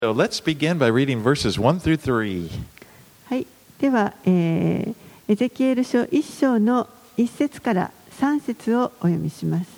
So let's begin by reading verses 1 through 3. はい、では、エゼキエル書1章の1節から3節をお読みします。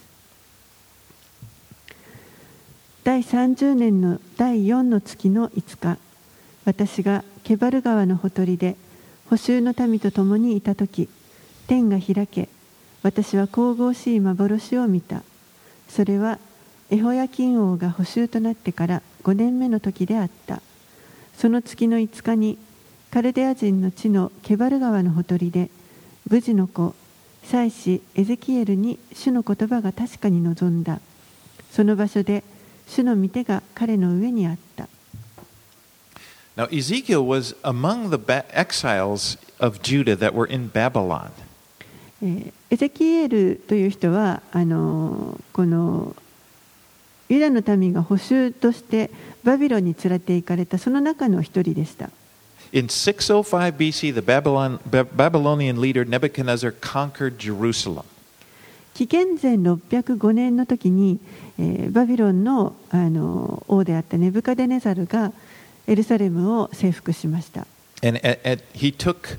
第30年の第4の月の5日、私がケバル川のほとりで捕囚の民と共にいたとき、天が開け、私は神々しい幻を見た。それはエホヤキン王が捕囚となってから5年目の時であった。その月の5日にカルデア人の地のケバル川のほとりでブジの子祭司エゼキエルに主の言葉が確かに臨んだ。その場所で主の御手が彼の上にあった。 Now, Ezekiel was among the exiles of Judah that were in Babylon. エゼキエルという人はこのユダの民が捕囚としてバビロンに連れて行かれたその中の一人でした。 In 605 BC, the Babylonian leader Nebuchadnezzar conquered Jerusalem. 紀元前605年の時に、バビロンの、王であったネブカデネザルがエルサレムを征服しました。 And he took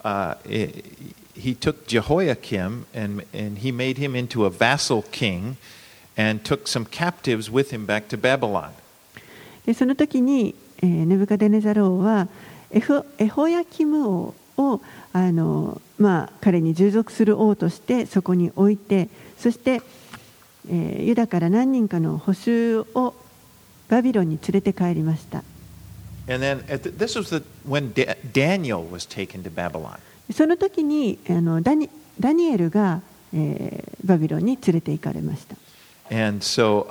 Jehoiakim and he made him into a vassal king.And took some captives with him back to Babylon. でその時に、ネブカデネザル王はエホヤキム王を彼に従属する王としてそこに置いて、そして、ユダから何人かの捕囚をバビロンに連れて帰りました。 And then this was when Daniel was taken to Babylon. その時にダニエルが、バビロンに連れて行かれました。 And so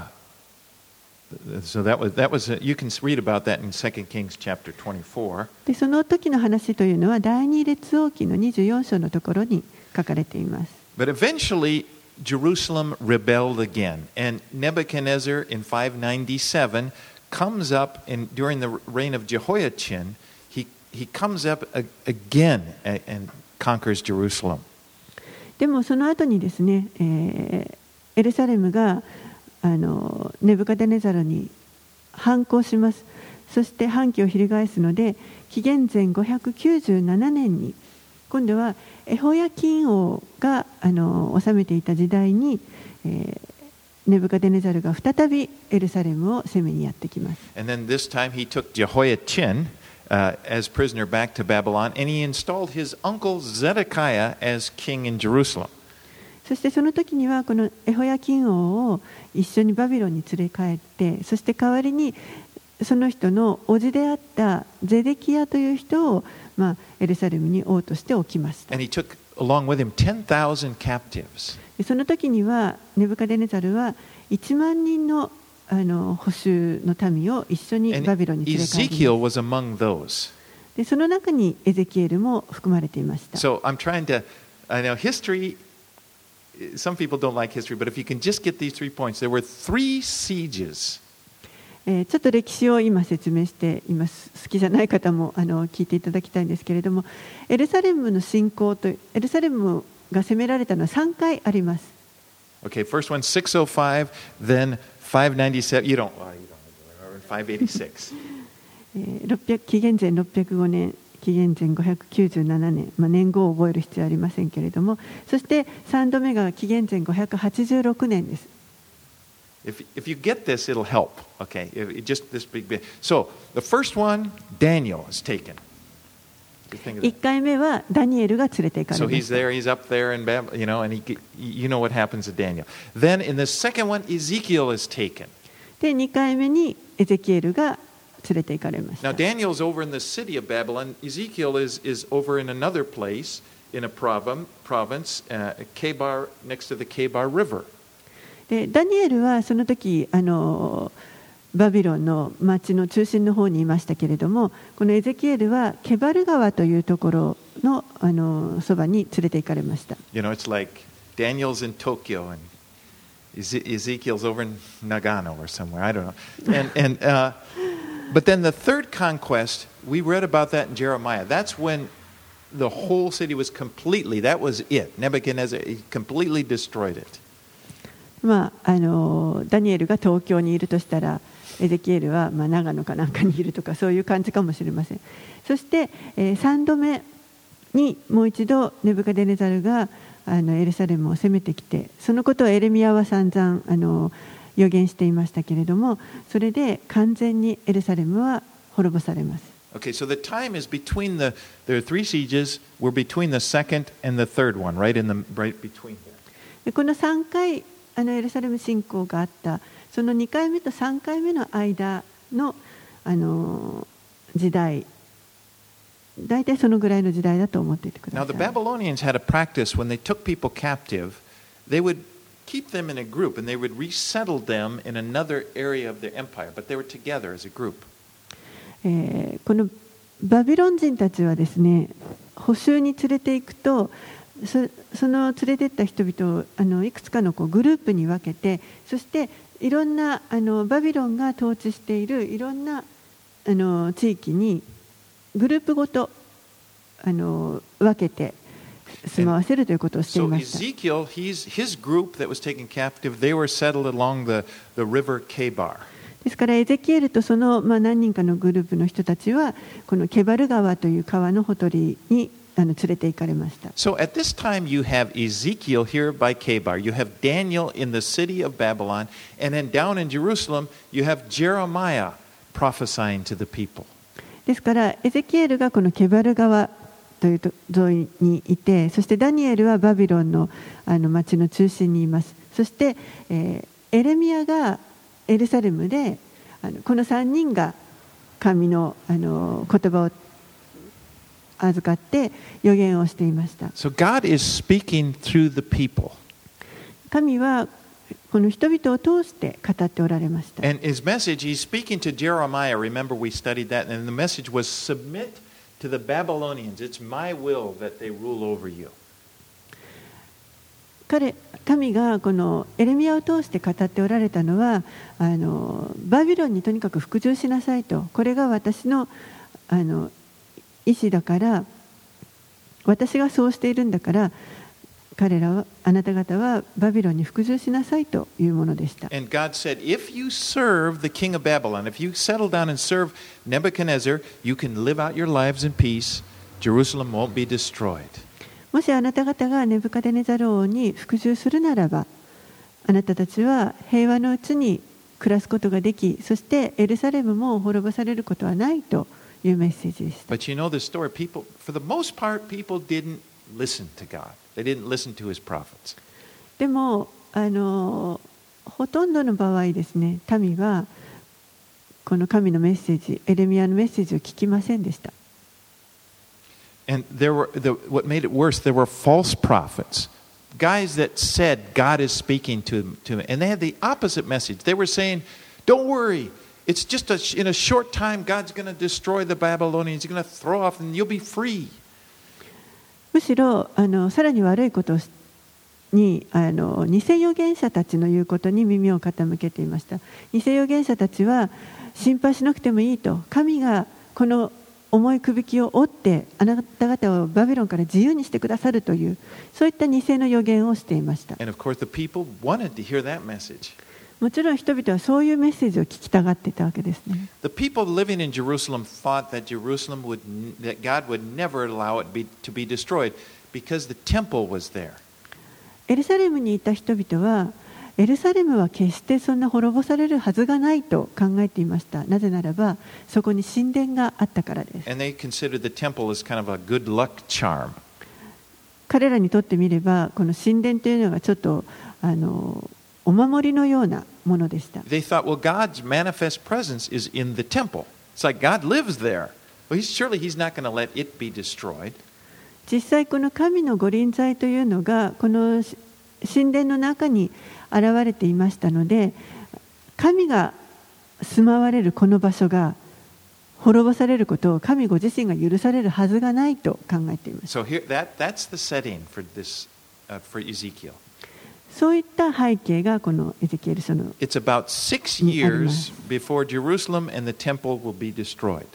that was you can read about that in 2 Kings chapter 24. でその時の話というのは第二列王記の24章のところに書かれています。 But eventually Jerusalem rebelled again, and Nebuchadnezzar in 597 comes up during the reign of Jehoiachin. He comes up again and conquers Jerusalem. でもその後にですね、エルサレムがネブカデネザルに反抗します。そして反旗を翻すので、紀元前597年に今度はエホヤキン王が治めていた時代に、ネブカデネザルが再びエルサレムを攻めにやってきます。 And then this time he took Jehoiachin as prisoner back to Babylon, and he installed his uncle Zedekiah as king in Jerusalem. そしてその時にはこのエホヤキン王を一緒にバビロンに連れ帰って、そして代わりにその人の叔父であったゼデキヤという人を、エルサレムに王として置きました。 And he took along with him 10,000 captives. その時にはネブカデネザルは1万人の捕囚の民を一緒にバビロンに連れ帰ります。 Ezekiel was among those. でその中にエゼキエルも含まれていました。 So I'm trying to, I know history.Some people don't like history, but if you can just get these 3 points, there were 3 sieges. ちょっと歴史を今説明しています。好きじゃない方も聞いていただきたいんですけれども、エルサレムの侵攻とエルサレムが攻められたのは3回あります。 Okay, first one 605, then 597. You don't. 586. 紀元前605年。紀元前597年、年号を覚える必要はありませんけれども、そして3度目が紀元前586年です。 If you get this, it'll help. Okay, just this big bit. So the first one, Daniel is taken. 1回目はダニエルが連れて行かれま So した。 he's up there in Babylon, and you know what happens to Daniel. Then in the second one, Ezekiel is taken. で、2回目にエゼキエルが連れて行かれました。 Now Daniel's over in the city of Babylon. Ezekiel is over in another place in a province, Kebar, next to the Kebar River. でダニエルはその時バビロンの町の中心の方にいましたけれども、このエゼキエルはケバル川というところのそばに連れて行かれました。 You know, it's like Daniel's in Tokyo and Ezekiel's over in Nagano or somewhere. I don't know. But then the third conquest, we read about that in Jeremiah. That's when the whole city was completely, that was it. Nebuchadnezzar completely destroyed it. ダニエルが東京にいるとしたら、 エゼキエルは長野かなんかにいるとかそういう感じかもしれません。そして、3度目にもう一度ネブカデネザルがエルサレムを攻めてきて、そのことをエレミヤは散々予言していましたけれども、それで完全にエルサレムは滅ぼされます。 Okay, so the time is between there are 3 sieges. We're between the second and the third one, right between there. この3回エルサレム侵攻があった、その2回目と3回目の間の、時代、大体そのぐらいの時代だと思っていてくだ Now, さ the い。 Babylonians had a practice when they took people captive, they would keep them in a group and they would resettle them in another area of their empire, but they were together as a group. このバビロン人たちはですね、捕囚に連れて行くと、その連れて行った人々をいくつかのグループに分けて、そしていろんなバビロンが統治しているいろんな地域にグループごと分けて住まわせるということをしてい So ました。 Ezekiel, his group that was taken captive, they were settled along the river Kebar. ですからエゼキエルとその何人かのグループの人たちはこのケバル川という川のほとりに連れて行かれました。 So at this time you have Ezekiel here by Kebar, you have Daniel in the city of Babylon, and then down in Jerusalem you have Jeremiah prophesying to the people. ですからエゼキエルがこのケバル川という沿いにいて、そしてダニエルはバビロンの町の中心にいます。そして、エレミヤがエルサレムでこの3人が神の言葉を預かって予言をしていました。 So God is speaking through the people. 神はこの人々を通して語っておられました。 And his message, he's speaking to Jeremiah. Remember, we studied that, and the message was submit to the Babylonians. It's my will that they rule over you. 神がこのエレミヤを通して語っておられたのはバビロンにとにかく服従しなさいと、これが私の意思だから、私がそうしているんだから、あなた方はバビロンに服従しなさいというものでした。 And God said, if you serve the king of Babylon, if you settle down and serve Nebuchadnezzar, you can live out your lives in peace. Jerusalem won't be destroyed. もしあなた方がネブカデネザル王に服従するならば、あなたたちは平和のうちに暮らすことができ、そしてエルサレムも滅ぼされることはないというメッセージでした。 But you know the story. People, for the most part, people didn't listen to God. They didn't listen to his prophets. でもほとんどの場合ですね、民はこの神のメッセージ、エレミヤのメッセージを聞きませんでした。 And what made it worse, there were false prophets, guys that said God is speaking to them, and they had the opposite message. They were saying, don't worry, it's just in a short time God's going to destroy the Babylonians, He's going to throw off and you'll be free. むしろさらに悪いことに偽預言者たちの言うことに耳を傾けていました。偽預言者たちは心配しなくてもいいと、神がこの重いくびきを折ってあなた方をバビロンから自由にしてくださるという、そういった偽の預言をしていました。 And of course the people wanted to hear that message. もちろん人々はそういうメッセージを聞きたがっていたわけですね。 The people living in Jerusalem thought that that God would never allow it to be destroyed because the temple was there. エルサレムにいた人々はエルサレムは決してそんな滅ぼされるはずがないと考えていました。なぜならばそこに神殿があったからです。 And they considered the temple as kind of a good luck charm. 彼らにとってみればこの神殿というのがちょっとお守りのようなものでした。 They thought, well, God's manifest presence is in the temple. It's like God lives there. Well, surely He's not going to let it be destroyed. 実際この神の御臨在というのがこの神殿の中に現れていましたので、神が住まわれるこの場所が滅ぼされることを神ご自身が許されるはずがないと考えています。 So that's the setting for this for Ezekiel. そういった背景がこのエゼキエル書の It's about 6 years before Jerusalem and the temple will be destroyed.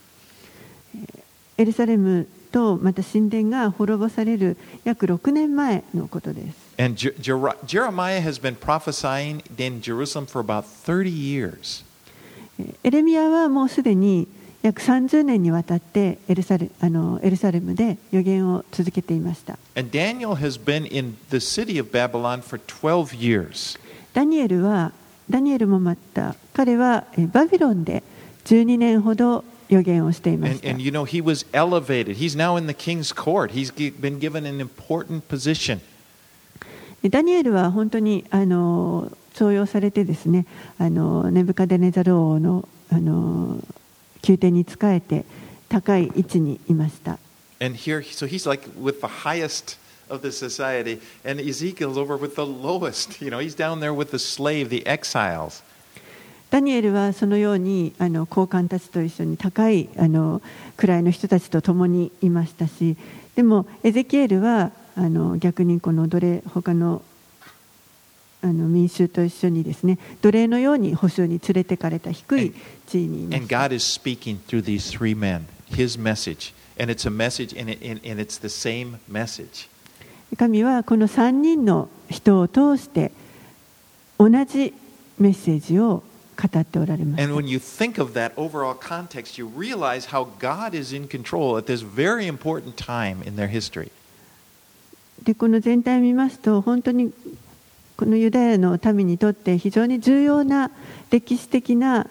エルサレムとまた神殿が滅ぼされる約6年前のことです。 And Jeremiah has been prophesying in Jerusalem for about 30 years. エレミヤはもうすでに約30年にわたってエルサレムで預言を続けていました。 And Daniel has been in the city of Babylon for 12 years. ダニエルもまた彼はバビロンで12年ほど預言をしていました。 And you know, he was elevated. He's now in the king's court. He's been given an important position. ダニエルは本当に重用されてですね、ネブカデネザル王の宮廷に仕えて高い位置にいました。 And here, so he's like with the highest of the society, and Ezekiel's over with the lowest. You know, he's down there with the slave, the exiles. ダニエルはそのように高官たちと一緒に高い位の人たちと共にいましたし、でもエゼキエルは逆にこの他の民衆と一緒にですね、奴隷のように捕囚に連れてかれた低い地位にいました。 And God is speaking through these three men, His message, and it's a message, and it's the same message. 神はこの3人の人を通して同じメッセージを語っておられます。 And when you think of that overall context, you realize how God is in control at this very important time in their history. でこの全体を見ますと、本当にこのユダヤの民にとって非常に重要な歴史的な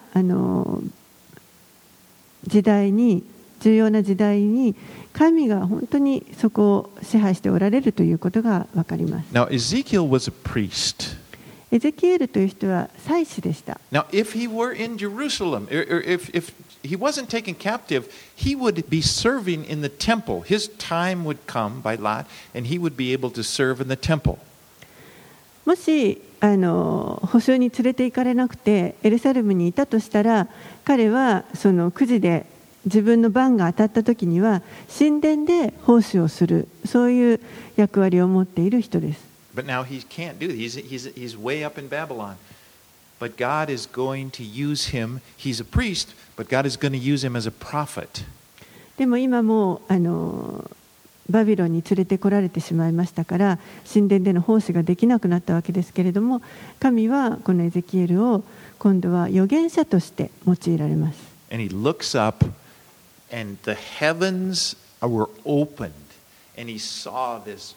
重要な時代に神が本当にそこを支配しておられるということが分かります。 Now, Ezekiel was a priest. エゼキエルという人は祭司でした。 Now, if he were in Jerusalem, or if he wasn't taken captive, he would be serving in the temple. His time would come by lot, and he would be able to serve in the temple. もし捕囚に連れて行かれなくてエルサレムにいたとしたら、彼はそのくじで自分の番が当たった時には神殿で奉仕をする、そういう役割を持っている人です。 But now he can't do that. He's way up in Babylon. But God is going to use him. He's a priest, but God is going to use him as a prophet. でも今もバビロンに連れてこられてしまいましたから、神殿での奉仕ができなくなったわけですけれども、神はこのエゼキエルを今度は預言者として用いられます。 And he looks up, and the heavens were opened, and he saw this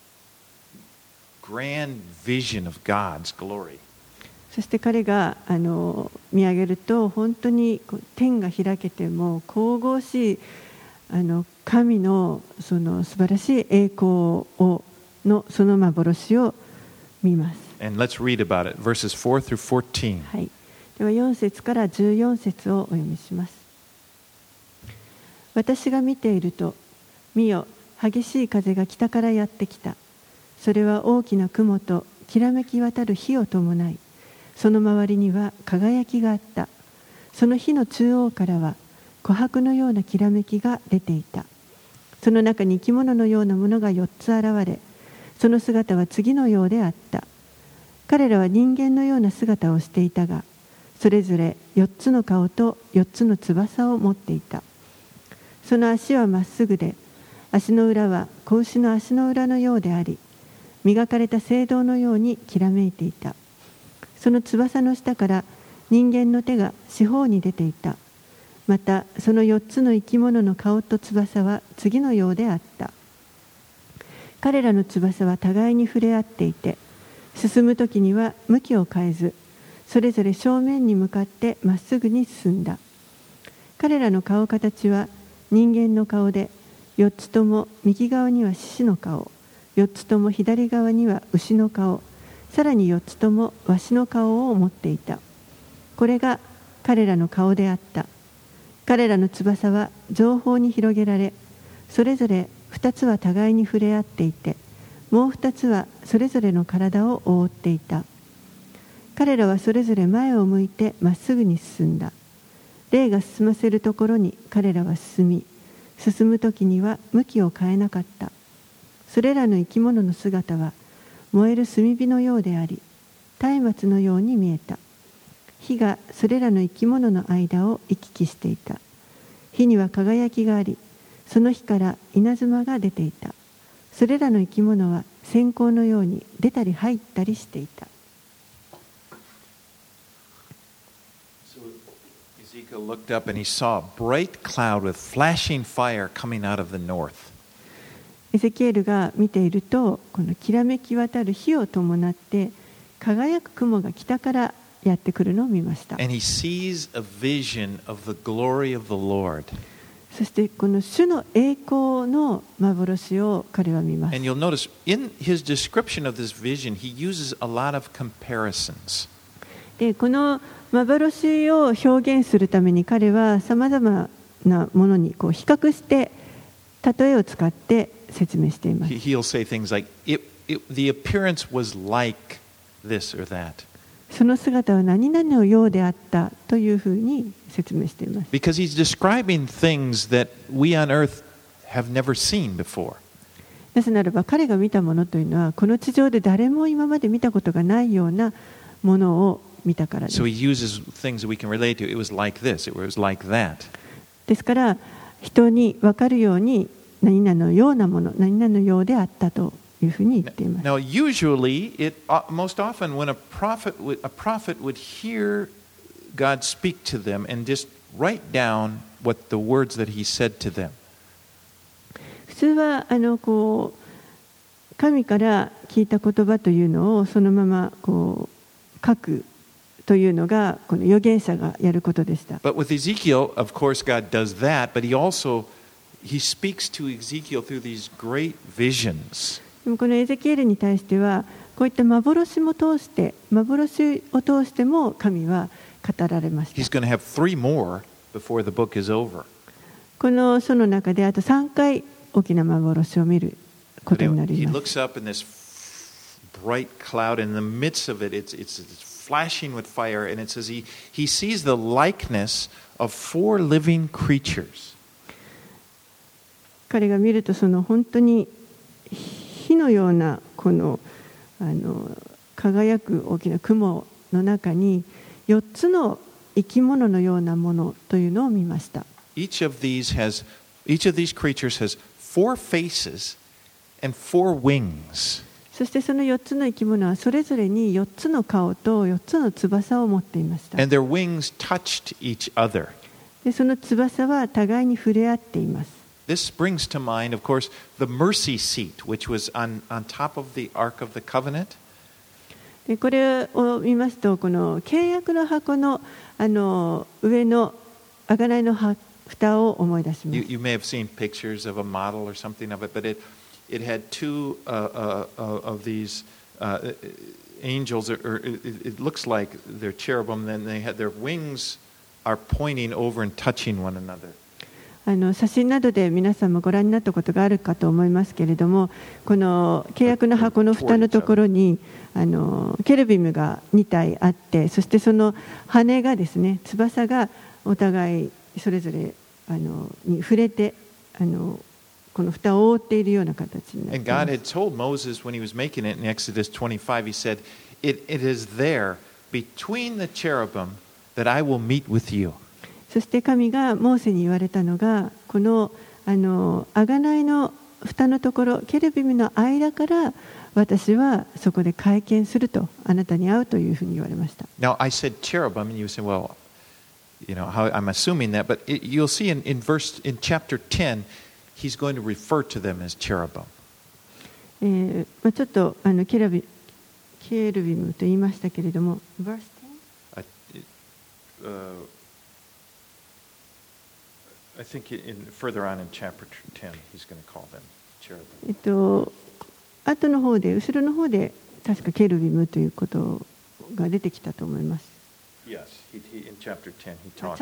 grand vision of God's glory. そして彼が見上げると、本当に天が開けても神々しい神のその素晴らしい栄光のその幻を見ます。 And let's read about it, verses 4 through 14. はい。では4節から14節をお読みします。私が見ていると、見よ、激しい風が北からやってきた。それは大きな雲ときらめき渡る火を伴い、その周りには輝きがあった。その火の中央からは琥珀のようなきらめきが出ていた。その中に生き物のようなものが4つ現れ、その姿は次のようであった。彼らは人間のような姿をしていたが、それぞれ4つの顔と4つの翼を持っていた。その足はまっすぐで、足の裏は子牛の足の裏のようであり、磨かれた青銅のようにきらめいていた。その翼の下から人間の手が四方に出ていた。またその4つの生き物の顔と翼は次のようであった。彼らの翼は互いに触れ合っていて、進む時には向きを変えず、それぞれ正面に向かってまっすぐに進んだ。彼らの顔形は人間の顔で、4つとも右側には獅子の顔、4つとも左側には牛の顔、さらに4つともワシの顔を持っていた。これが彼らの顔であった。彼らの翼は上方に広げられ、それぞれ2つは互いに触れ合っていて、もう2つはそれぞれの体を覆っていた。彼らはそれぞれ前を向いてまっすぐに進んだ。霊が進ませるところに彼らは進み、進む時には向きを変えなかった。それらの生き物の姿は燃える炭火のようであり、松明のように見えた。火がそれらの生き物の間を行き来していた。火には輝きがあり、その火から稲妻が出ていた。それらの生き物は閃光のように出たり入ったりしていた。 Ezekiel looked up and he saw a bright cloud with flashing fire coming out of the north. エゼキエルが見ていると、このきらめき渡る火を伴って輝く雲が北からやってくるのを見ました。 And he sees a vision of the glory of the Lord. そしてこの主の栄光の幻を彼は見ます。 And you'll notice in his description of this vision, he uses a lot of comparisons. でこの幻を表現するために彼はさまざまなものにこう比較して例えを使って説明しています。 He'll say things like, the appearance was like this or that. その姿は何々のようであったというふうに説明しています。 Because he's describing things that we on earth have never seen before. なぜならば彼が見たものというのはこの地上で誰も今まで見たことがないようなものを見たからです。 So he uses things that we can relate to. It was like this, it was like that. ですから人に分かるように何々のようなもの、何々のようであったというふうに言っています。 Now, usually, most often when a prophet would hear God speak to them and just write down what the words that he said to them. 普通はこう神から聞いた言葉というのをそのままこう書くというのがこの預言者がやることでした。 But with Ezekiel, of course, God does that, but he speaks to Ezekiel through these great visions. でもこのエゼキエルに対してはこういった幻を通しても神は語られました。 He's going to have 3 more before the book is over. この書の中であと3回大きな幻を見ることになり He ます。 looks up in this bright cloud, and in the midst of it, it's flashing with fire, and it says he sees the likeness of 4 living creatures. 彼が見るとその本当に火のようなこの輝く大きな雲の中に4つの生き物のようなものというのを見ました。 Each of these creatures has 4 faces and 4 wings. そしてその4つの生き物はそれぞれに4つの顔と4つの翼を持っていました。 And their wings touched each other. でその翼は互いに触れ合っています。 This brings to mind, of course, the mercy seat, which was on top of the Ark of the Covenant. でこれを見ますと、この契約の箱の上の贖いの蓋を思い出します。 You may have seen pictures of a model or something of it, but it had 2 of these angels, or it looks like they're cherubim, and they had their wings are pointing over and touching one another. 写真などで皆さんもご覧になったことがあるかと思いますけれども、この契約の箱の蓋のところにケルビムが2体あって、そしてその羽がですね、翼がお互いそれぞれに触れてこの蓋を覆っているような形になっています。 And God had told Moses when he was making it in Exodus 25, he said, it is there between the cherubim that I will meet with you. そして神がモーセに言われたのが、この贖いの蓋のところ、ケルビムの間から私はそこで会見すると、あなたに会うというふうに言われました。 Now, I said cherubim, and you say, well, I'm assuming that, but you'll see in chapter 10, he's going to refer to them as cherubim. ちょっとケルビムと言いましたけれども、verse 10? I think further on in chapter 10, he's going to call them cherubim. 後の方で、後ろの方で確かケルビムということが出てきたと思います。 Yes, in chapter 10 he talks.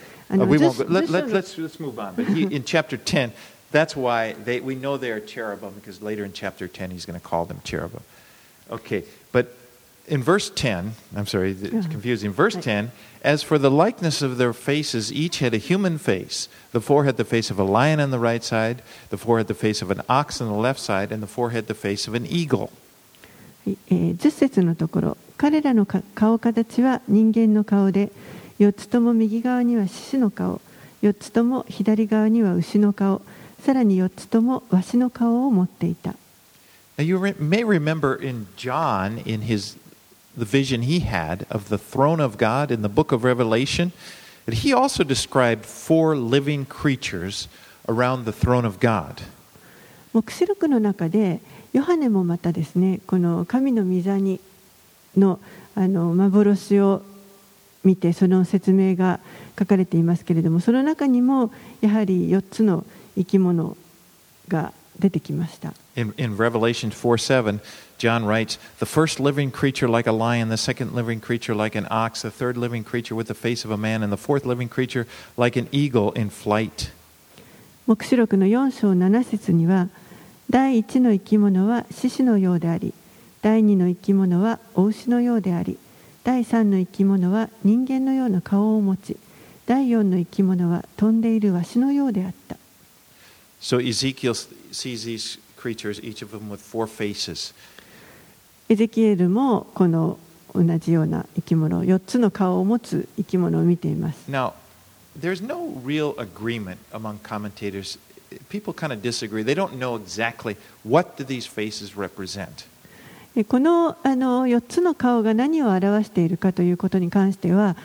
Let's move on. But in chapter 10, that's why we know they are cherubim, because later in chapter 10 he's going to call them cherubim. Okay, but in verse 10, I'm sorry, it's confusing. Verse 10, as for the likeness of their faces, each had a human face. The 4 had the face of a lion on the right side, the 4 had the face of an ox on the left side, and the 4 had the face of an eagle. 10節のところ、彼らの顔形は人間の顔で、4つとも右側には獅子の顔、4つとも左側には牛の顔、さらに4つともワシの顔を持っていた。 Now you may remember in John, the vision he had of the throne of God in the book of Revelation, But he also described 4 living creatures around the throne of God. 黙示録の中でヨハネもまたですね、この神の御座にの幻を見てその説明が書かれていますけれども、その中にもやはり4つの生き物が出てきました。 In Revelation 4:7, John writes, "The first living creature like a lion, the second living creature like an ox, the third living creature with the face of a man, and the fourth living creature like an eagle in flight." 黙示録の4章7節には、第1の生き物は獅子のようであり、第2の生き物は雄牛のようであり、第3の生き物は人間のような顔を持ち、第4の生き物は飛んでいるワシのようであった。 So Ezekiel sees these creatures, each of them with 4 faces. エゼキエルもこの同じような生き物、4つの顔を持つ生き物を見ています。 Now, there's no real agreement among commentators. People kind of disagree. They don't know exactly what do these faces represent. この4つの顔が何を表しているかということに関しては、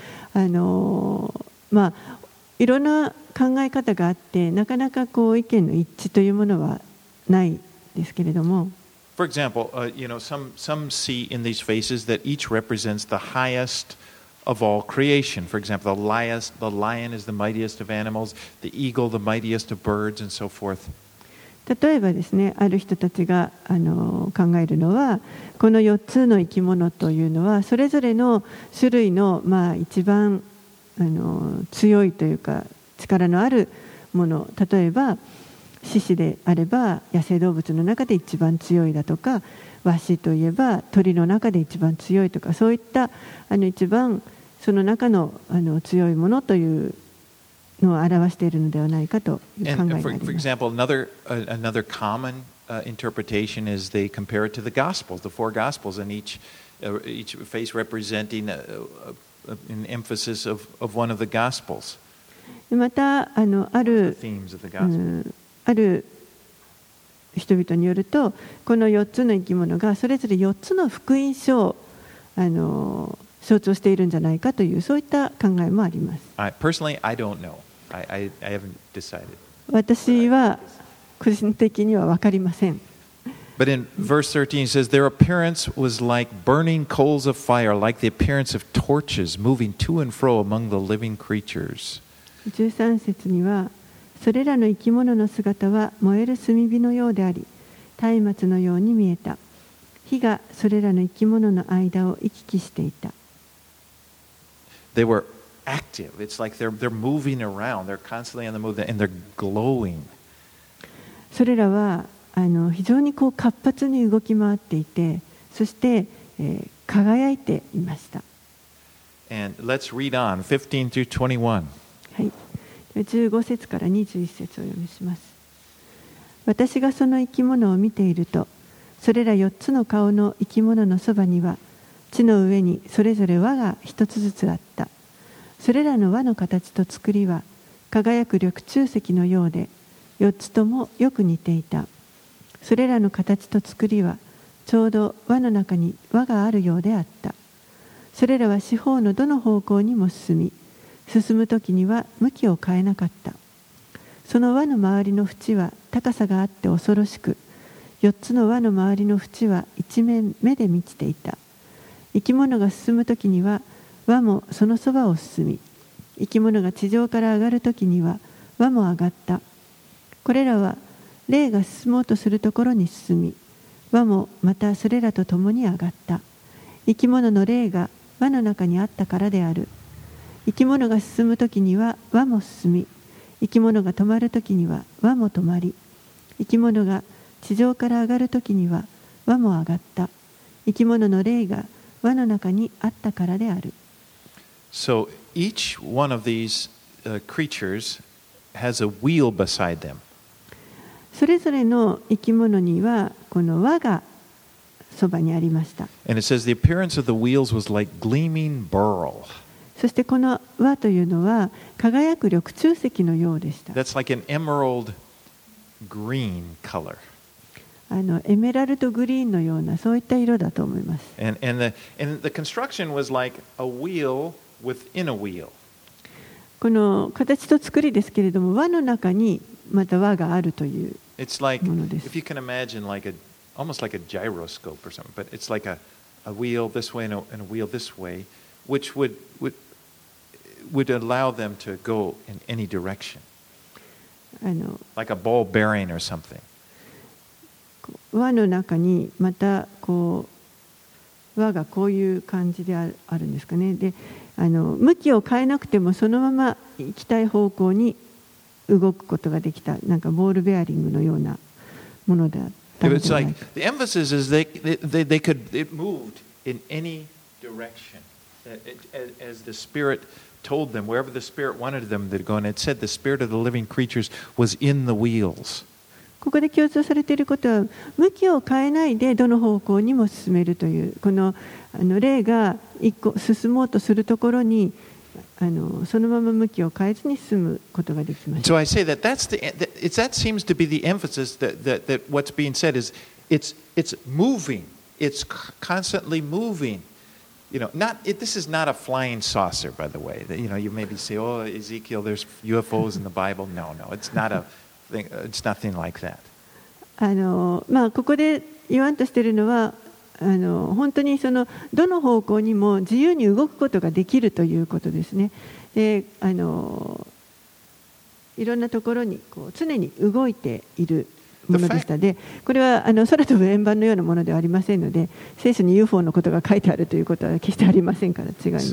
いろんな考え方があって、なかなかこう意見の一致というものはないですけれども。 For example, some see in these faces that each represents the highest of all creation. For example, the lion is the mightiest of animals, the eagle the mightiest of birds, and so forth. 例えばですね、ある人たちが考えるのは、この4つの生き物というのはそれぞれの種類の一番強いというか力のあるもの、例えば獅子であれば野生動物の中で一番強いだとか、ワシといえば鳥の中で一番強いとか、そういった一番その中の強いものというのを表しているのではないかという考えがあります。 For example, another common interpretation is they compare it to the Gospels, the 4 Gospels, and each face representing an emphasis of one of the Gospels. またある人々によると、この4つの生き物がそれぞれ4つの福音書を象徴しているんじゃないかという、そういった考えもあります。 Personally, I don't know. I haven't decided. 私は個人的には分かりません。 But in verse 13 it says, "Their appearance was like burning coals of fire, like the appearance of torches moving to and fro among the living creatures." 13節には、それらの生き物の姿は燃える炭火のようであり、松明のように見えた。火がそれらの生き物の間を行き来していた。 They were active. It's like they're moving around. They're constantly on the move, and they're glowing. それらは非常に活発に動き回っていて、そして、輝いていました。 And let's read on 15 through 21. はい、15節から21節を読みします。私がその生き物を見ていると、それら4つの顔の生き物のそばには、地の上にそれぞれ輪が一つずつあった。それらの輪の形と作りは、輝く緑柱石のようで、4つともよく似ていた。それらの形と作りは、ちょうど輪の中に輪があるようであった。それらは四方のどの方向にも進むときには向きを変えなかった。その輪の周りの縁は高さがあって恐ろしく、4つの輪の周りの縁は一面目で満ちていた。生き物が進むときには輪もそのそばを進み、生き物が地上から上がるときには輪も上がった。これらは霊が進もうとするところに進み、輪もまたそれらと共に上がった。生き物の霊が輪の中にあったからである。生き物が進むときには輪も進み、生き物が止まるときには輪も止まり、生き物が地上から上がるときには輪も上がった。生き物の霊が輪の中にあったからである。 So each one of these creatures has a wheel beside them. それぞれの生き物にはこの輪がそばにありました。 And it says the appearance of the wheels was like gleaming beryl. そしてこの輪というのは輝く緑柱石のようでした。 That's like an emerald green color. エメラルドグリーンのようなそういった色だと思います。 And the construction was like a wheel within a wheel. この形と作りですけれども、輪の中にまた輪があるという It's like, ものです。 if you can imagine, almost like a gyroscope or something, but it's like a wheel this way and a wheel this way, which would allow them to go in any direction, あの like a ball bearing or something. 輪の中にまたこう輪がこういう感じであるんですかね。で、向きを変えなくてもそのまま行きたい方向に動くことができた、なんかボールベアリングのようなものだったの It's ではな like いか。 the emphasis is it moved in any direction as the Spirit told them, wherever the Spirit wanted them to go. And it said the Spirit of the living creatures was in the wheels. ここで強調されていることは、向きを変えないでどの方向にも進めるという、この霊が一個進もうとするところにそのまま向きを変えずに進むことができま And す。 so I say that that seems to be the emphasis that what's being said is it's moving, it's constantly moving. This is not a flying saucer, by the way. You maybe say, oh, Ezekiel, there's UFOs in the Bible. No, it's not a thing. It's nothing like that. ここで言わんとしているのは、本当にどの方向にも自由に動くことができるということですね。で、いろんなところに常に動いているものでした。で、これは空飛ぶ円盤のようなものではありませんので、聖書に UFO のことが書いてあるということは決してありませんから違います。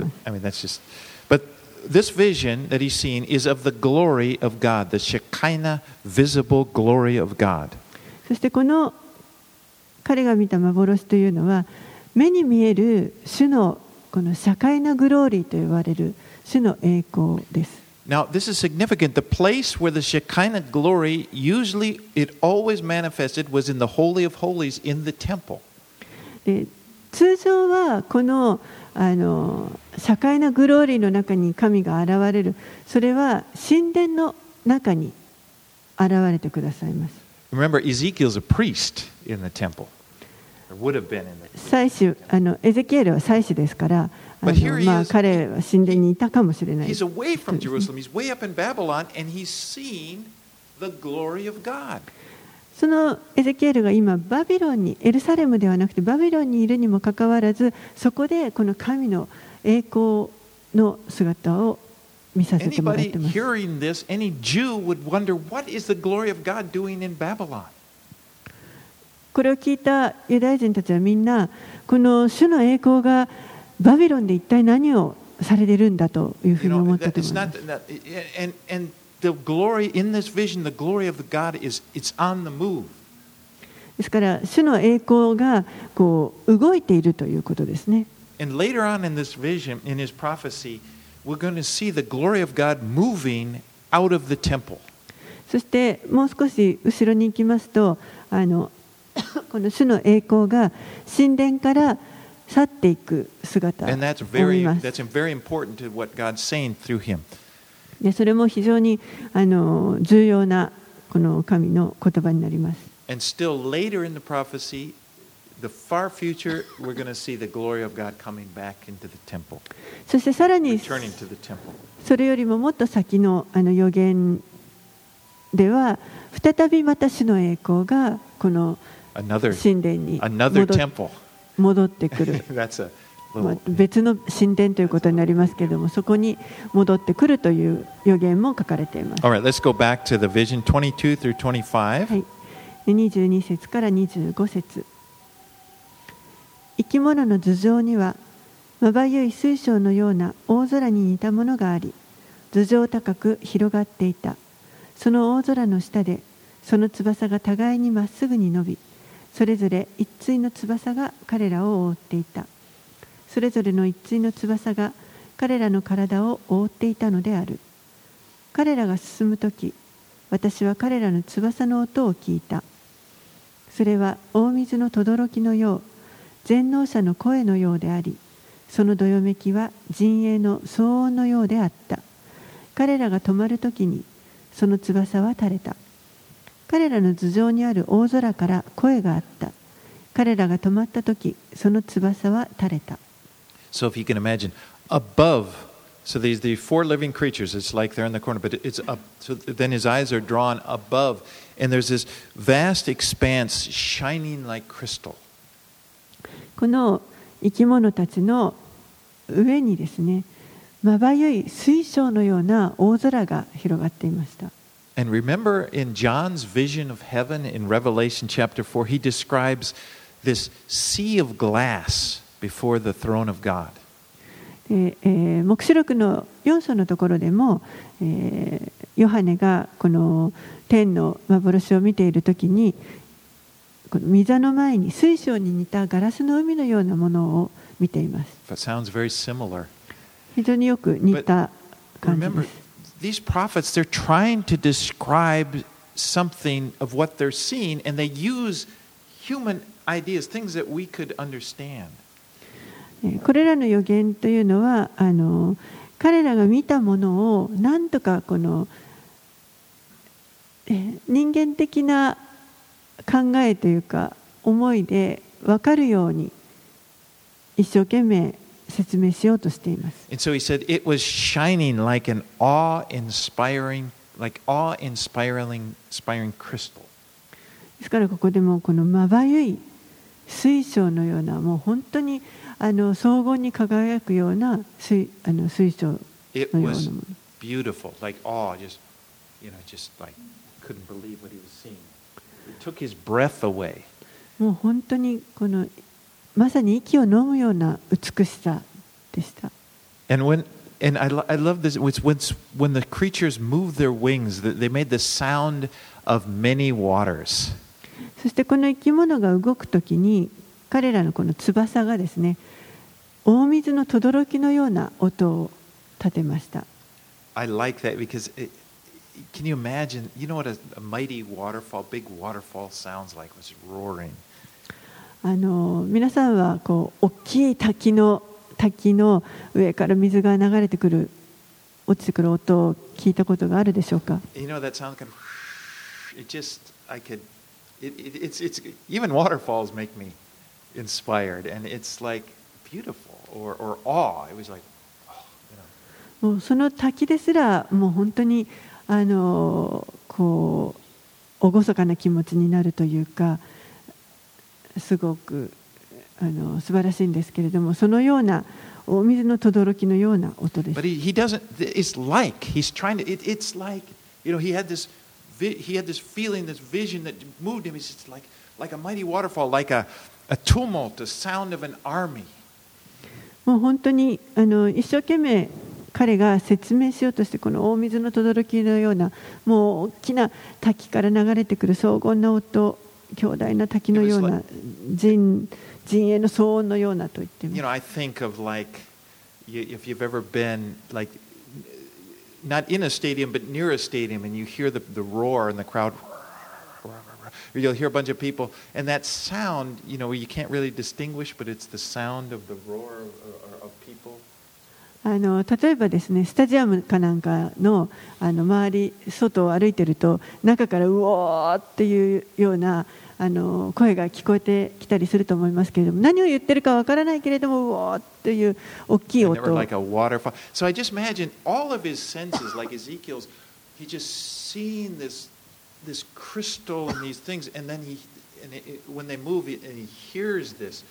But this vision that he's seen is of the glory of God, the Shekinah visible glory of God. そしてこの彼が見た幻というのは、目に見える主のこの社会なグローリーと言われる主の栄光です。 Now, this is significant. The place where the Shekinah glory usually, it always manifested, was in the Holy of Holies in the temple. で、通常はこの社会なグローリーの中に神が現れる、それは神殿の中に現れてくださいます。 Remember, Ezekiel's a priest in the temple. Or would have been in the 祭司、エゼキエルは祭司ですから、彼は神殿にいたかもしれない。 He's away from Jerusalem. He's way up in Babylon, and he's seen the glory of God. そのエゼキエルが今バビロンに、エルサレムではなくてバビロンにいるにもかかわらず、そこでこの神の栄光の姿を見させてもらっています。 Anybody hearing this, any Jew would wonder, what is the glory of God doing in Babylon? これを聞いたユダヤ人たちはみんな、この主の栄光がバビロンで一体何をされているんだというふうに思ったと思います。 And the glory in this vision, the glory of God is it's on the move. ですから主の栄光がこう動いているということですね。 And later on in this vision, in his prophecy, we're going to see the glory of God moving out of the temple. そしてもう少し後ろに行きますと、この主の栄光が神殿から去っていく姿を見 And ます。 that's very important to what God's saying through him. で、それも非常に重要なこの神の言葉になります。 And still later in the prophecy, the far future, we're going to see the glory of God coming back into the temple, そしてさらに returning to the temple. それよりももっと先の予言では、再びまた主の栄光がこの Another 神殿に temple. 戻ってくる。 That's a 別の神殿ということになりますけれども、そこに戻ってくるという予言も書かれています。 All right, let's go back to the vision 22 through 25. はい、22節から25節。生き物の頭上にはまばゆい水晶のような大空に似たものがあり、頭上高く広がっていた。その大空の下で、その翼が互いにまっすぐに伸び、それぞれ一対の翼が彼らを覆っていた。それぞれの一対の翼が彼らの体を覆っていたのである。彼らが進むとき、私は彼らの翼の音を聞いた。それは大水の轟きのよう、全能者の声のようであり、そのどよめきは陣営の騒音のようであった。彼らが止まるときに、その翼は垂れた。彼らの頭上にある大空から声があった。彼らが止まったとき、その翼は垂れた。 So if you can imagine, above So these the four living creatures, it's like they're in the corner, but it's up. So then his eyes are drawn above, and there's this vast expanse shining like crystal. この生き物たちの上にですね、まばゆい水晶のような大空が広がっていました。 And remember in John's vision of heaven in Revelation chapter 4, he describes this sea of glass before the throne of God. 黙示録の4章のところでも、ヨハネがこの天の幻を見ているときに、この御座の前に水晶に似たガラスの海のようなものを見ています。 That sounds very similar. 非常によく似た感じで Remember, す。 these prophets, they're trying to describe something of what they're seeing, and they use human ideas, things that we could understand. これらの予言というのは彼らが見たものをなんとかこの人間的な考えというか思いで分かるように一生懸命説明しようとしています。 And so he said it was shining like an awe-inspiring crystal. ですからここでもこのまばゆい水晶のようなもう本当に荘厳に輝くような水晶のようなもの。 It was beautiful, like awe, just like couldn't believe what he was seeing. It took his breath away. もう本当にこのまさに息を飲むような美しさでした。 And I love this. When the creatures moved their wings, they made the sound of many waters. そしてこの生き物が動くときに彼らのこの翼がですね、大水の轟きのような音を立てました。 I like that because can you imagine? You know what a mighty waterfall, big waterfall sounds like? It was roaring. 皆さんはこう大きい滝の上から水が流れてくる落ちてくる音を聞いたことがあるでしょうか。 You know that sound kind of. It just I could. It's even waterfalls make me inspired, and it's like beautiful or awe. It was like, you know. もうその滝ですらもう本当にこう厳かな気持ちになるというか、すごく素晴らしいんですけれども、そのようなお水の轟きのような音です。 But he doesn't. It's like he's trying to. It's like he had this feeling, this vision that moved him. It's just like a mighty waterfall, like a tumult, a sound of an army. もう本当に一生懸命彼が説明しようとしてこの大水の轟きのようなもう大きな滝から流れてくる荘厳な音、強大な滝のような陣営の騒音のようなと言っています。 I think of like if you've ever been like not in a stadium but near a stadium and you hear the roar in the crowd, or you'll hear a bunch of people and that sound, you can't really distinguish, but it's the sound of the roar of people. 例えばですね、スタジアムかなんかの周り外を歩いてると中からうおーっていうような声が聞こえてきたりすると思いますけれども、何を言ってるかわからないけれどもうおーっていう大きい音。 Like a waterfall. So I just imagine all of his senses, like Ezekiel's, he just seeing this crystal and these things, and then when they move and he hears this,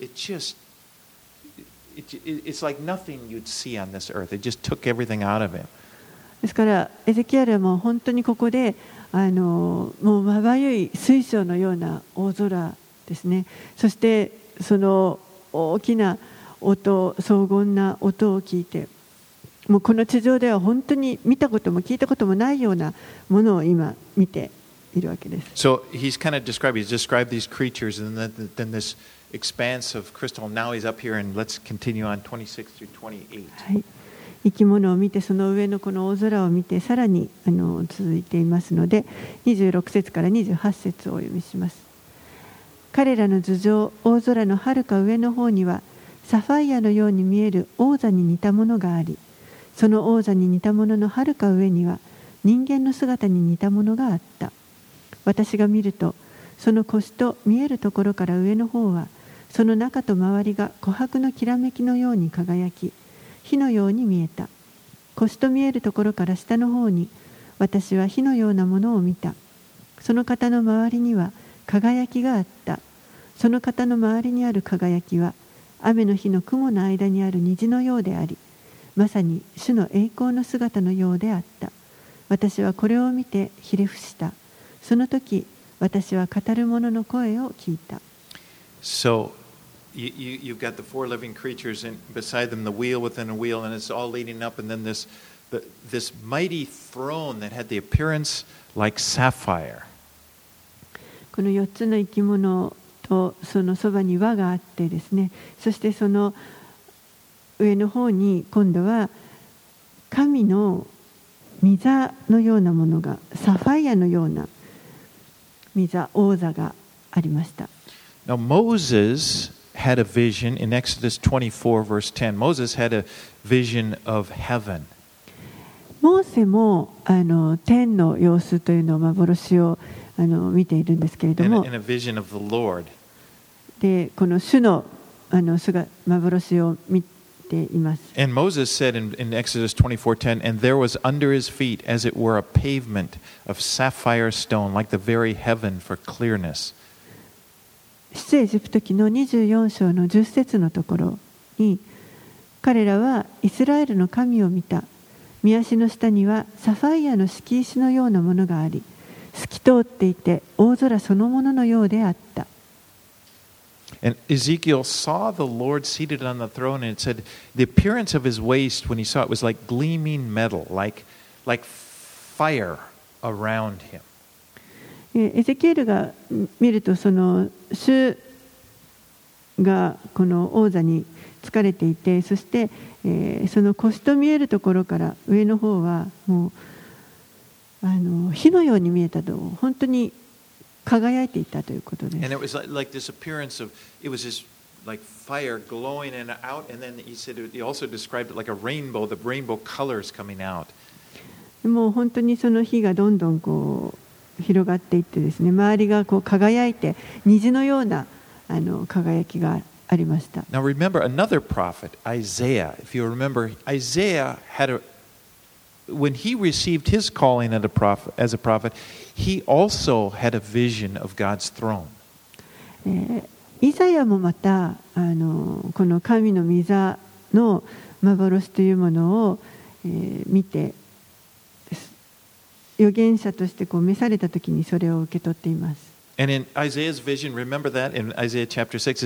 it's like nothing you'd see on this earth. It just took everything out of him. ですからエゼキエルはもう本当にここでもうまばゆい水晶のような大空ですね。そしてその大きな音、荘厳な音を聞いて、もうこの地上では本当に見たことも聞いたこともないようなものを今見ているわけです。 So he's described these creatures and then this expanse of crystal. Now he's up here and let's continue on 26 through 28. はい、生き物を見てその上のこの大空を見てさらに続いていますので、26節から28節をお読みします。彼らの頭上、大空のはるか上の方にはサファイアのように見える王座に似たものがあり、その王座に似たもののはるか上には人間の姿に似たものがあった。私が見ると、その腰と見えるところから上の方はその中と周りが琥珀のきらめきのように輝き、火のように見えた。 腰と見えるところから下の方に私は火のようなものを見た。その方の周りには輝きがあった。その方の周りにある輝きは雨の日の雲の間にある虹のようであり、まさに主の栄光の姿のようであった。私はこれを見てひれ伏した。その時、私は語る者の声を聞いた。 So, you've got the four living creatures, and beside them the wheel within a wheel, and it's all leading up, and then this mighty throne that had the appearance like sapphire. この4つの生き物とそのそばに輪があってですね、そしてその上の方に今度は神の御座のようなものが、サファイアのような御座、王座がありました。 Now Moses had a vision in Exodus 24 verse 10. Moses had a vision of heaven. モーセも天の様子というのを幻を見ているんですけれども、 And a vision of the Lord. でこの主の幻を見ています。 And Moses said in Exodus 24:10, and there was under his feet as it were a pavement of sapphire stone, like the very heaven for clearness. 出エジプト記の24章の10節のところに、彼らはイスラエルの神を見た。御足の下にはサファイアの敷石のようなものがあり、透き通っていて大空そのもののようであった。 And Ezekiel saw the Lord seated on the throne, and it said the appearance of his waist when he saw it was like gleaming metal, like fire around him. エゼキエルが見ると、その主がこの王座に疲れていて、そして、その腰と見えるところから上の方はもう火のように見えたと、本当に輝いていたということです。 And it was like this appearance of, it was this like fire glowing and out, and then he said he also described it like a rainbow, the rainbow colors coming out. もう本当にその火がどんどんこう広がっていってですね、周りがこう輝いて虹のような輝きがありました。 Now remember another prophet, Isaiah. If you remember, Isaiah had when he received his calling as a prophet, he also had a vision of God's throne. イザヤもまたこの神の御座の幻というものを、見て、預言者としてこう召されたときにそれを受け取っています。 And in Isaiah's vision, remember that in Isaiah chapter 6,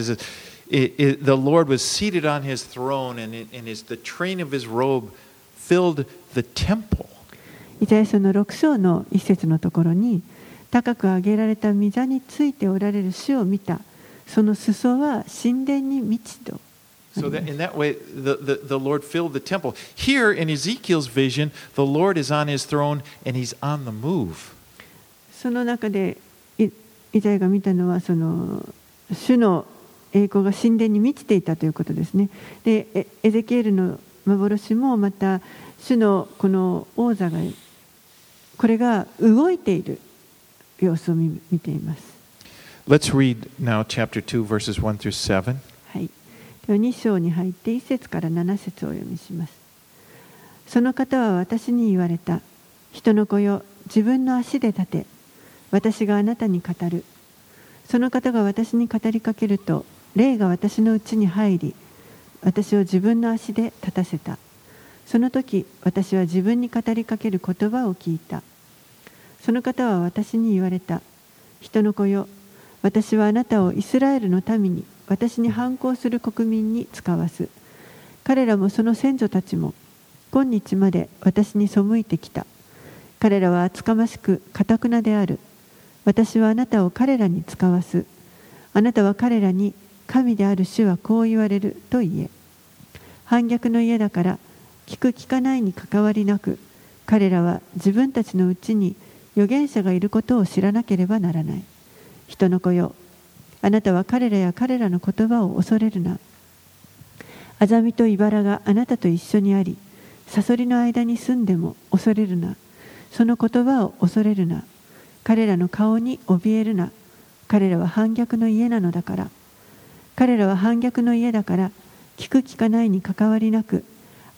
the Lord was seated on his throne, and the train of his robe filled the temple. イザヤ書の6章の一節のところに、高く上げられた御座についておられる主を見た。その裾は神殿に満ちと。 So that in that way, the Lord filled the temple. Here in Ezekiel's vision, the Lord is on his throne and he's on the move. その中でイザヤが見たのは、その主の栄光が神殿に満ちていたということですね。で、エゼキエルの幻もまた主のこの王座が、これが動いている様子を見ています。 Let's read now chapter 2 verses 1 through 7. はい。では2章に入って1節から7節をお読みします。その方は私に言われた。人の子よ、自分の足で立て。私があなたに語る。その方が私に語りかけると、霊が私のうちに入り、私を自分の足で立たせた。その時、私は自分に語りかける言葉を聞いた。その方は私に言われた。人の子よ、私はあなたをイスラエルの民に、私に反抗する国民に使わす。彼らもその先祖たちも、今日まで私に背いてきた。彼らは厚かましく堅くなである。私はあなたを彼らに使わす。あなたは彼らに、神である主はこう言われると言え。反逆の家だから、聞く聞かないに関わりなく、彼らは自分たちのうちに預言者がいることを知らなければならない。人の子よ、あなたは彼らや彼らの言葉を恐れるな。アザミとイバラがあなたと一緒にあり、サソリの間に住んでも恐れるな。その言葉を恐れるな。彼らの顔に怯えるな。彼らは反逆の家なのだから。彼らは反逆の家だから、聞く聞かないに関わりなく、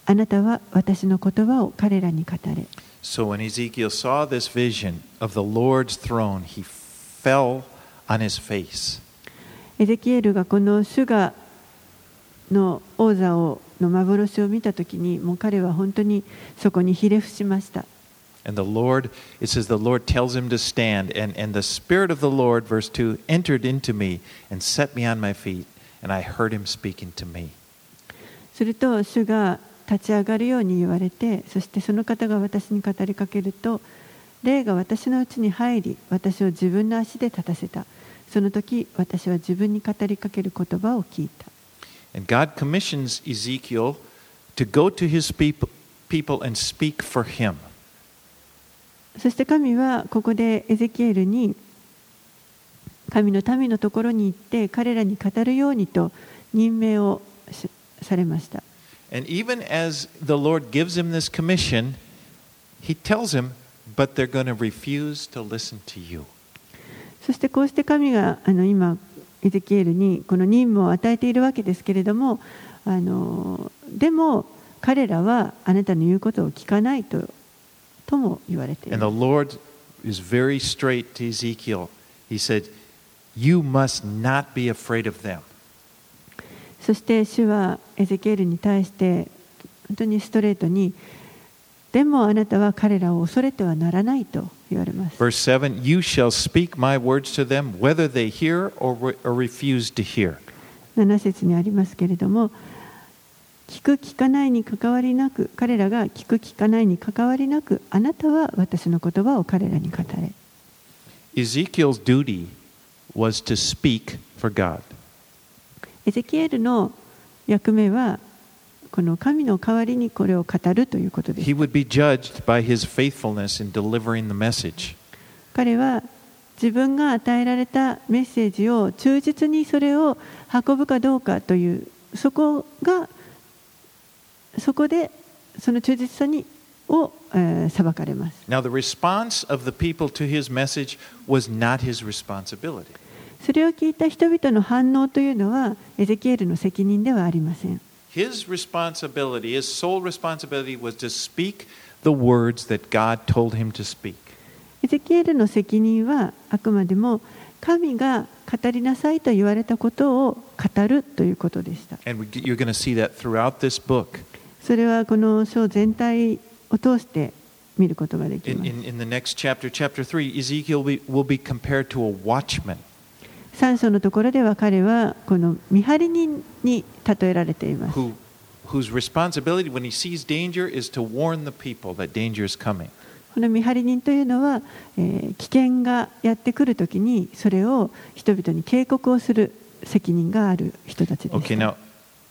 あなたは私の言葉を彼らに語れ。 So when Ezekiel saw this vision of the Lord's throne, he fell on his face. エゼキエルがこの主がの王座の幻を見たときに、もう彼は本当にそこにひれ伏しました。 And the Lord, it says the Lord tells him to stand, and the Spirit of the Lord, verse 2, entered into me and set me on my feet, and I heard him speaking to me. すると主が立ち上がるように言われて、そしてその方が私に語りかけると、霊が私のうちに入り、私を自分の足で立たせた。その時、私は自分に語りかける言葉を聞いた。 And God commissions Ezekiel to go to his people and speak for him. そして神はここでエゼキエルに神の民のところに行って彼らに語るようにと任命をされました。 And even as the Lord gives him this commission, he tells him, but they're going to refuse to listen to you. そしてこうして神が今エゼキエルにこの任務を与えているわけですけれども、でも彼らはあなたの言うことを聞かないとも言われている。 And the Lord is very straight to Ezekiel. He said, "You must not be afraid of them." そして主はエゼキエルに対して本当にストレートに、でもあなたは彼らを恐れてはならないと言われます。 Verse 7, "You shall speak my words to them, whether they hear or refuse to hear." 7節にありますけれども、聞く聞かないに関わりなく、彼らが聞く聞かないに関わりなく、あなたは私の言葉を彼らに語れ。 Ezekiel's duty was to speak for God. エゼキエルの役目はこの神の代わりにこれを語るということです。 He would be judged by his faithfulness in delivering the message. 彼は自分が与えられたメッセージを忠実にそれを運ぶかどうかという、そこでその忠実さを裁かれます。 Now, the response of the people to his message was not his responsibility. それを聞いた人々の反応というのはエゼキエルの責任ではありません。 His responsibility, his sole responsibility was to speak the words that God told him to speak. エゼキエルの責任はあくまでも神が語りなさいと言われたことを語るということでした。 And you're going to see that throughout this book. それはこの書全体を通して見ることができます。 In the next chapter, chapter 3, Ezekiel will be compared to a watchman. 3章のところでは彼はこの見張り人に例えられています。 Whose responsibility when he sees danger is to warn the people that danger is coming. この見張り人というのは、危険がやってくるときにそれを人々に警告をする責任がある人たちです。 Okay, now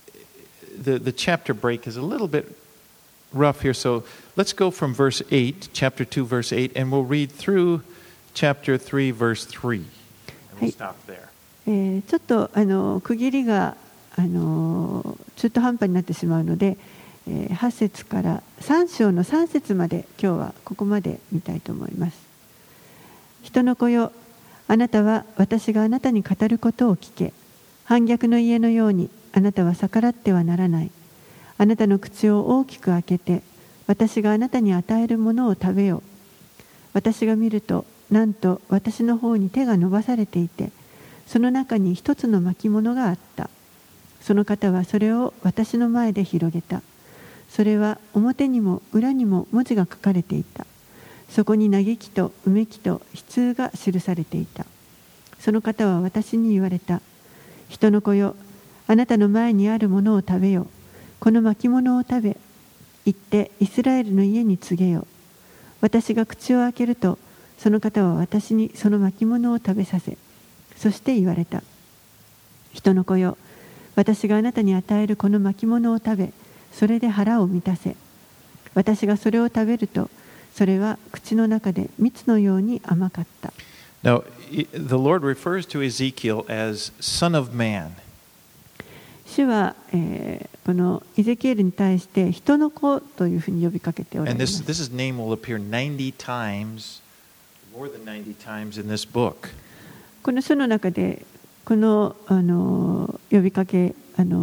the chapter break is a little bit rough here, so let's go from verse 8, chapter 2, verse 8, and we'll read through chapter 3, verse 3. And we'll stop there. ちょっと区切りが中途半端になってしまうので、8節から3章の3節まで今日はここまで見たいと思います。人の子よ、あなたは私があなたに語ることを聞け。反逆の家のようにあなたは逆らってはならない。あなたの口を大きく開けて、私があなたに与えるものを食べよ。私が見ると、なんと私の方に手が伸ばされていて、その中に一つの巻物があった。その方はそれを私の前で広げた。それは表にも裏にも文字が書かれていた。そこに嘆きとうめきと悲痛が記されていた。その方は私に言われた。人の子よ、あなたの前にあるものを食べよ。この巻物を食べ、行ってイスラエルの家に告げよ。私が口を開けると、その方は私にその巻物を食べさせ、そして言われた。人の子よ、私があなたに与えるこの巻物を食べ、それで腹を満たせ。私がそれを食べると、それは口の中で蜜のように甘かった。 Now, the Lord refers to Ezekiel as son of man. 主は、このエゼキエルに対して人の子というふうに呼びかけておられます。 And this name will appear 90 times, more than 90 times in this book. この書の中でこの、呼びかけ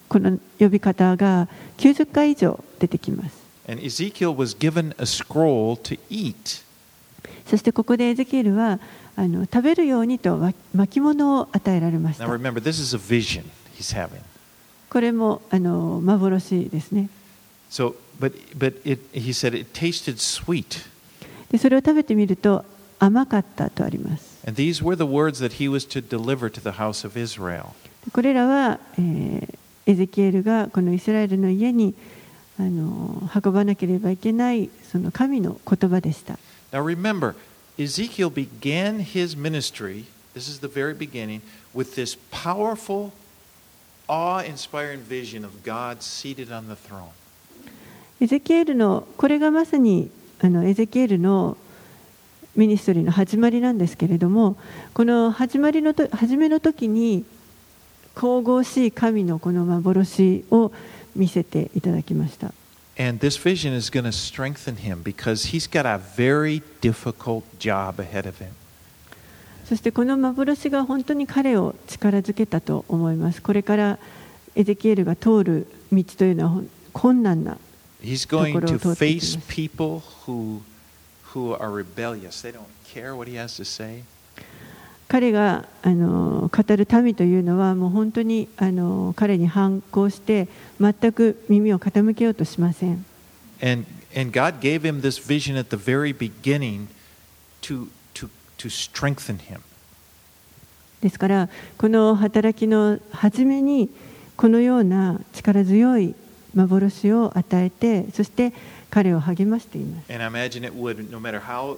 この呼び方が90回以上出てきます。 And Ezekiel was given a scroll to eat. そしてここでエゼキエルは食べるようにと巻物を与えられました。 Now remember, this is a vision he's having. これも幻ですね。 So, he said it tasted sweet. でそれを食べてみると甘かったとあります。 And these were the words that he was to deliver to the house of Israel. これらは、エゼキエルがこのイスラエルの家に運ばなければいけないその神の言葉でした。 Now remember, Ezekiel began his ministry, this is the very beginning, with this powerful, awe-inspiring vision of God seated on the throne. エゼキエルのこれがまさにエゼキエルのミニストリーの始まりなんですけれども、この初めの時に神々しい神のこの幻を見せていただきました。 And this vision is going to strengthen him because he's got a very difficult job ahead of him. そしてこの幻が本当に彼を力づけたと思います。これからエゼキエルが通る道というのは困難なところを通っていきます。 He's going to face people who are rebellious. They don't care what he has to say. 彼が語る民というのはもう本当に彼に反抗して全く耳を傾けようとしません。 And God gave him this vision at the very beginning to strengthen him. ですからこの働きの初めにこのような力強い幻を与えて、そして彼を励ましています。 And I imagine it would, no matter how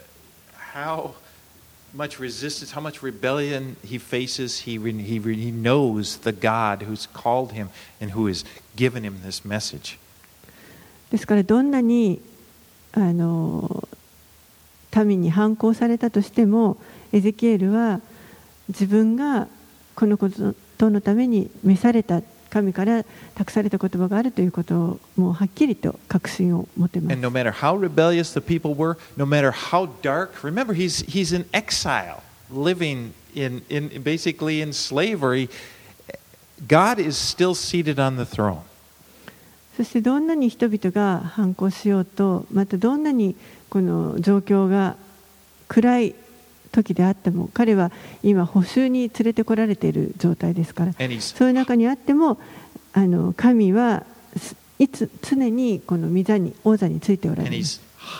much resistance, how much rebellion he faces, he knows the God who's called him and who has given him this message. ですからどんなに民に反抗されたとしても、エゼキエルは自分がこのことのために召された神から託された言葉があるということをもうはっきりと確信を持てます。 And no matter how rebellious the people were, no matter how dark, remember he's in exile, living in basically in slavery. God is still seated on the throne. そしてどんなに人々が反抗しようと、またどんなにこの状況が暗い時であっても、彼は今捕囚に連れてこられている状態ですから、そういう中にあっても神はいつ常にこの王座についておられる。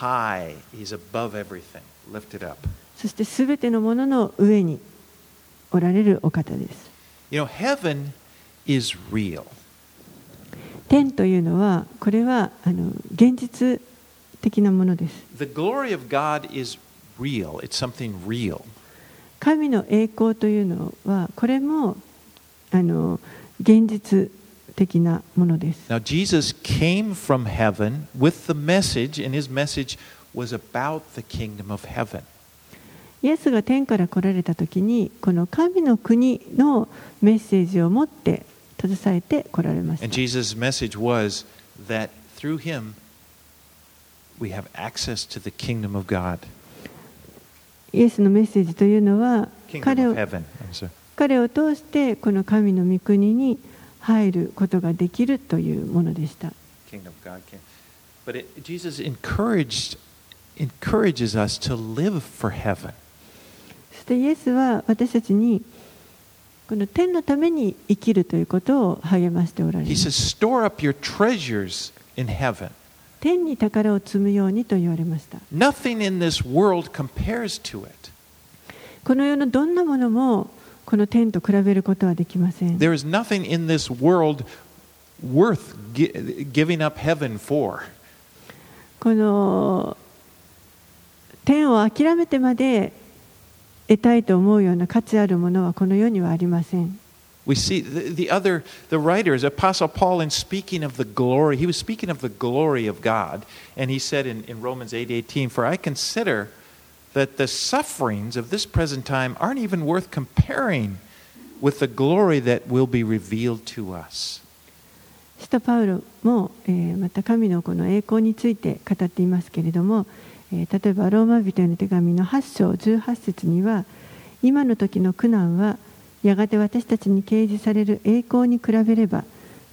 そしてすべてのものの上におられるお方です。 Heaven is real. 天というのはこれは現実的なものです。 The glory of God is real. It's something real. 神の栄光というのはこれも現実的なものです。 Now Jesus came from heaven with the message, and his message was about the kingdom of heaven. イエスが天から来られたときにこの神の国のメッセージを持って携えて来られました。 And Jesus' message was that through him we have access to the kingdom of God. イエスのメッセージというのは彼を通してこの神の御国に入ることができるというものでした。 But Jesus encourages us to live for heaven. そしてイエスは私たちにこの天のために生きるということを励ましておられます。 He says, "Store up your treasures in heaven." 天に宝を積むようにと言われました。 Nothing in this world compares to it. この世のどんなものもこの天と比べることはできません。 There is nothing in this world worth giving up heaven for. この天を諦めてまで得たいと思うような価値あるものはこの世にはありません。 We see the writers, Apostle Paul, in speaking of the glory, he was speaking of the glory of God, and he said in Romans 8:18, "For I consider that the sufferings of this present time aren't even worth comparing with the glory that will be revealed to us." 使徒パウロも、また神のこの栄光について語っていますけれども、例えばローマ人への手紙の8章18節には、今の時の苦難はやがて私たちに掲示される栄光に比べれば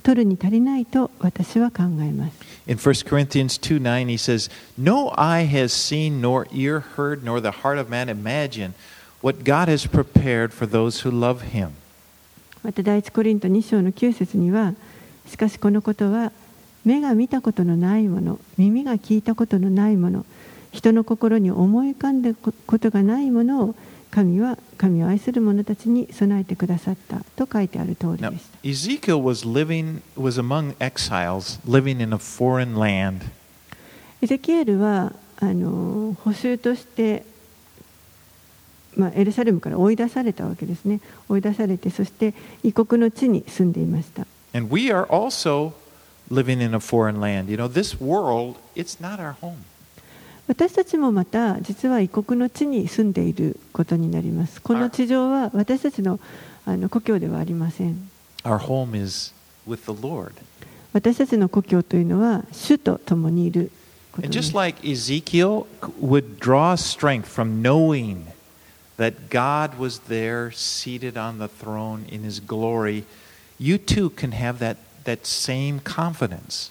取るに足りないと私は考えます。 In 1 Corinthians 2:9, he says, No eye has seen, nor ear heard, nor the heart of man imagined what God has prepared for those who love him. また第一コリント2章の9節には、しかしこのことは目が見たことのないもの、耳が聞いたことのないもの、人の心に思い浮かんだことがないものを神を愛する者たちに備えてくださったと書いてある通りで Now, した。 Ezekiel was among exiles living in a foreign land. エゼキエルは捕囚として、エルサレムから追い出されたわけですね。追い出されて、そして異国の地に住んでいました。 And we are also living in a foreign land. You know, this world, it's not our home. 私たちもまた実は異国の地に住んでいることになります。この地上は私たちの故郷ではありません。 Our home is with the Lord. 私たちの故郷というのは主と共にいることで And す。 just like Ezekiel would draw strength from knowing that God was there seated on the throne in his glory, you too can have that same confidence.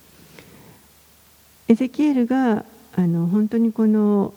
エゼキエルが本当にこの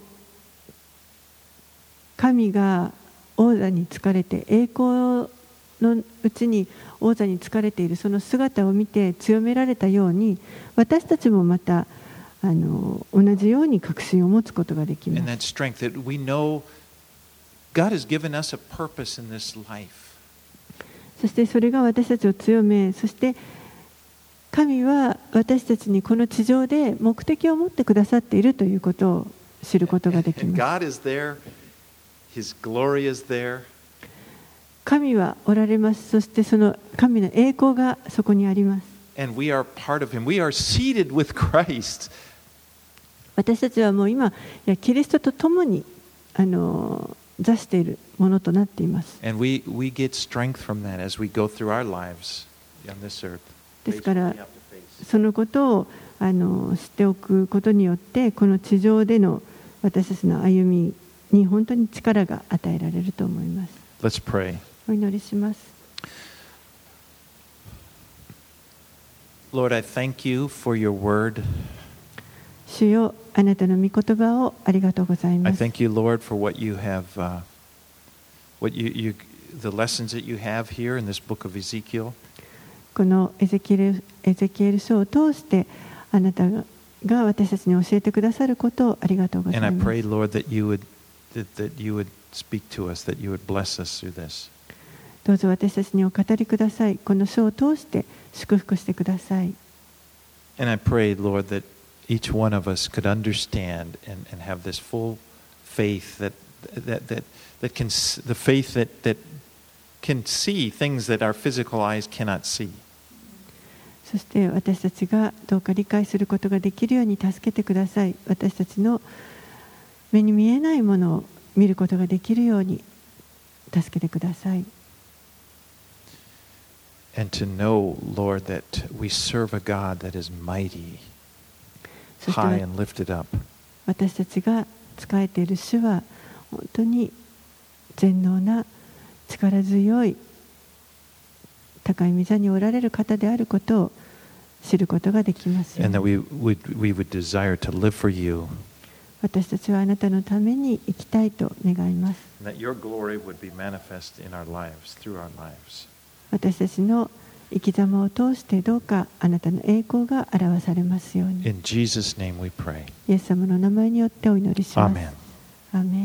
神が王座に就かれて栄光のうちに王座に就かれているその姿を見て強められたように、私たちもまた同じように確信を持つことができま And す。 that strength that we know God has given us a purpose in this life. そしてそれが私たちを強め、そして神は私たちにこの地上で目的を持ってくださっているということを知ることができ And ます。 God is there, his glory is there. 神はおられます。そしてその神の栄光がそこにあります。 And we are part of him. We are seated with Christ. 私たちはもう今、キリストと共に座しているものとなっています。 And we get strength from that as we go through our lives on this earth. ですからそのことを知っておくことによって、この地上での私たちの歩みに本当に力が与えられると思います。 Let's pray. お祈りします。 Lord, I thank you for your word. 主よ、あなたの御言葉をありがとうござい I ます。 thank you, Lord, for what you have, the lessons that you have here in this book of Ezekiel. このエゼキエル書を通してあなたが私たちに教えてくださることをありがとうござい And I ます。 pray, Lord, that you would speak to us, that you would bless us through this. どうぞ私たちにお語りください。この書を通して祝福してください。 And I pray, Lord, that each one of us could understand and have this full faith that can the faith that can see things that our physical eyes cannot see. そして私たちがどうか理解することができるように助けてください。私たちの目に見えないものを見ることができるように助けてください。 And to know, Lord, that we serve a God that is mighty, そして high and lifted up. 私たちが仕えている主は本当に全能な力強い高い御座におられる方であることを知ることができますよう And に。 that we would desire to live for you. 私たちはあなたのために生きたいと願います。 And that your glory would be manifest in our lives, through our lives. 私たちの生き様を通してどうかあなたの栄光が表されますように。 In Jesus' name we pray. イエス様の名前によってお祈りします。 Amen. アーメン。